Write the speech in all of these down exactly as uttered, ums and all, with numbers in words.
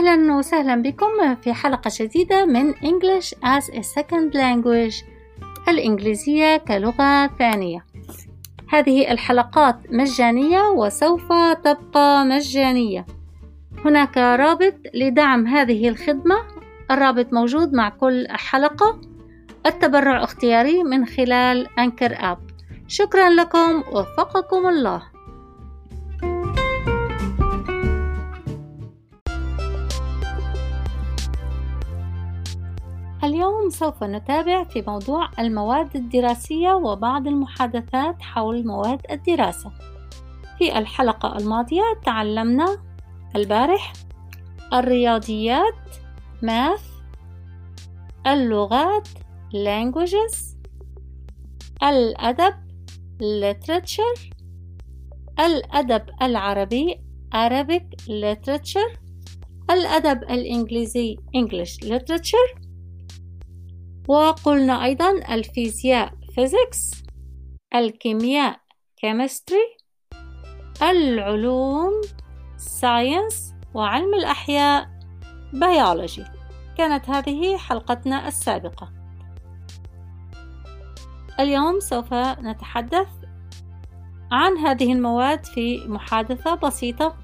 أهلا وسهلا بكم في حلقة جديدة من English as a Second Language، الإنجليزية كلغة ثانية. هذه الحلقات مجانية وسوف تبقى مجانية. هناك رابط لدعم هذه الخدمة، الرابط موجود مع كل حلقة. التبرع اختياري من خلال أنكر آب. شكرا لكم، وفقكم الله. اليوم سوف نتابع في موضوع المواد الدراسية وبعض المحادثات حول مواد الدراسة. في الحلقة الماضية تعلمنا البارح الرياضيات math، اللغات languages، الأدب literature، الأدب العربي Arabic literature، الأدب الإنجليزي English literature، وقلنا أيضا الفيزياء physics، الكيمياء chemistry، العلوم science، وعلم الأحياء biology. كانت هذه حلقتنا السابقة. اليوم سوف نتحدث عن هذه المواد في محادثة بسيطة.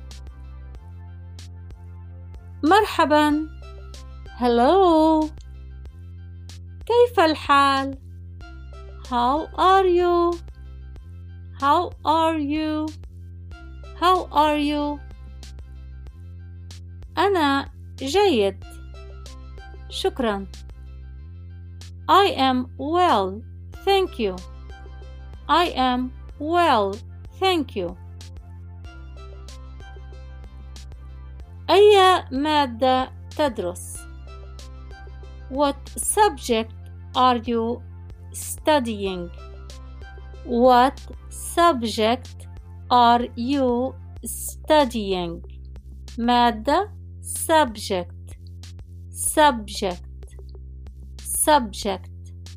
مرحبا، hello، كيف الحال؟ How are you? How are you? How are you? أنا جيد، شكرا. I am well, thank you. I am well, thank you. أي مادة تدرس؟ What subject are you studying? What subject are you studying? مادة subject subject subject.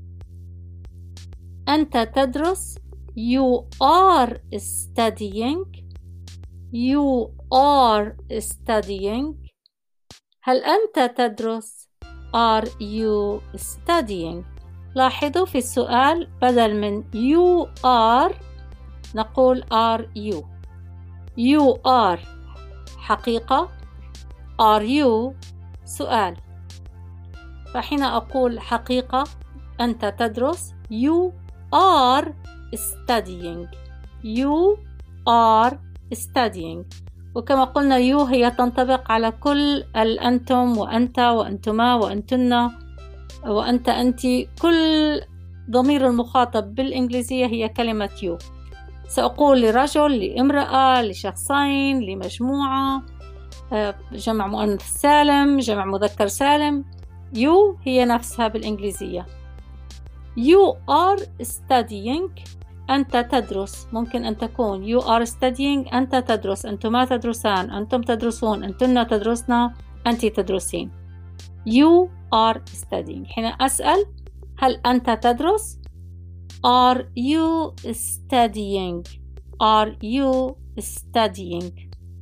أنت تدرس. You are studying. You are studying. هل أنت تدرس؟ Are you studying؟ لاحظوا في السؤال بدل من you are نقول are you. You are حقيقة، are you سؤال. فحين أقول حقيقة أنت تدرس you are studying. You are studying. وكما قلنا you هي تنطبق على كل الأنتم وأنت وأنتما وأنتن وأنت أنت. كل ضمير المخاطب بالإنجليزية هي كلمة you. سأقول لرجل، لامرأة، لشخصين، لمجموعة، جمع مؤنث سالم، جمع مذكر سالم، you هي نفسها بالإنجليزية. You are studying. أنت تدرس. ممكن أن تكون you are studying أنت تدرس، أنتما تدرسان، أنتم تدرسون، أنتن تدرسنا، أنت تدرسين. You are studying. حين أسأل هل أنت تدرس؟ Are you studying? Are you studying؟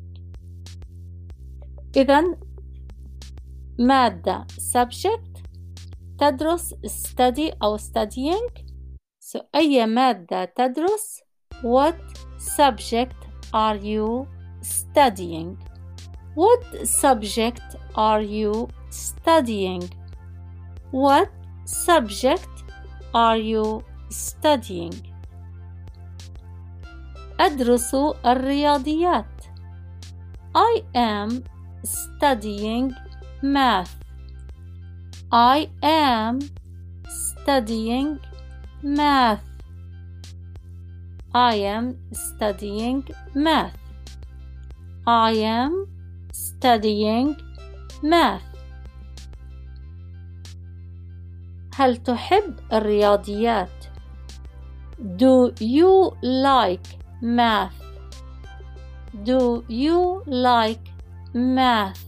إذن مادة subject تدرس study أو studying. So أي مادة تدرس. What subject are you studying? What subject are you studying? What subject are you studying? أدرس الرياضيات. I am studying math. I am studying math. I am studying math. I am studying math. هل تحب الرياضيات؟ Do you like math? Do you like math?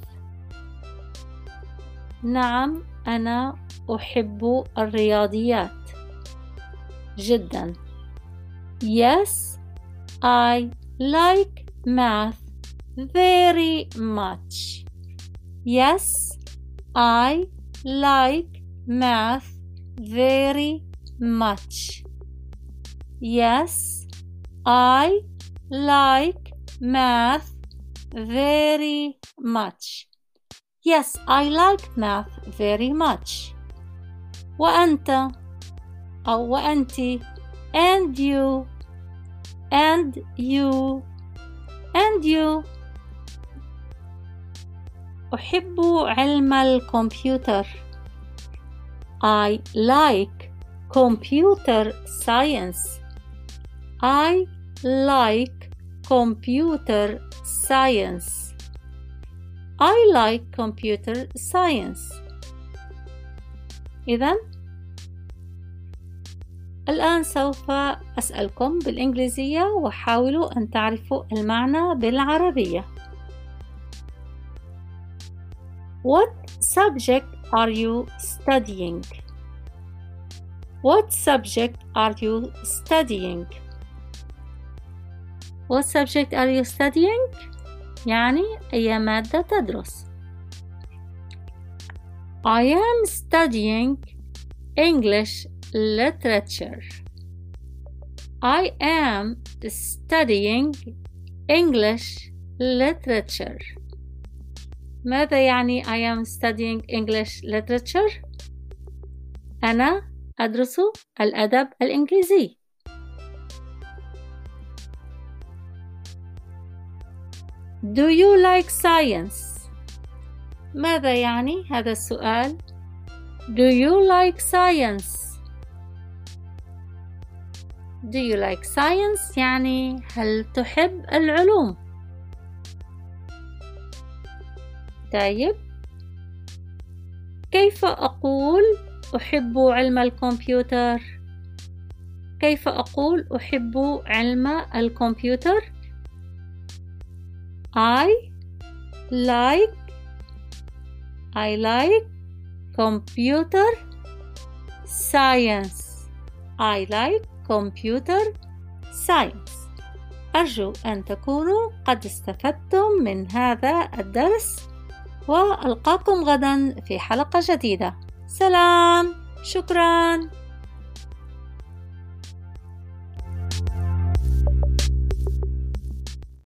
نعم، أنا أحب الرياضيات جدا. Yes, I like math very much. Yes, I like math very much. Yes, I like math very much. Yes, I like math very much. وأنت أو وأنتِ and you and you and you. أحب علم الكمبيوتر. I like computer science. I like computer science. I like computer science. إذن الآن سوف أسألكم بالإنجليزية وحاولوا أن تعرفوا المعنى بالعربية. What subject are you studying? What subject are you studying? What subject are you studying? يعني أي مادة تدرس. I am studying English literature. I am studying English literature. ماذا يعني I am studying English literature؟ أنا أدرس الأدب الإنجليزي. Do you like science؟ ماذا يعني هذا السؤال؟ Do you like science؟ Do you like science يعني هل تحب العلوم؟ طيب، كيف أقول أحب علم الكمبيوتر؟ كيف أقول أحب علم الكمبيوتر؟ I like I like computer science. I like computer science. أرجو أن تكونوا قد استفدتم من هذا الدرس، وألقاكم غدا في حلقة جديدة. سلام، شكراً.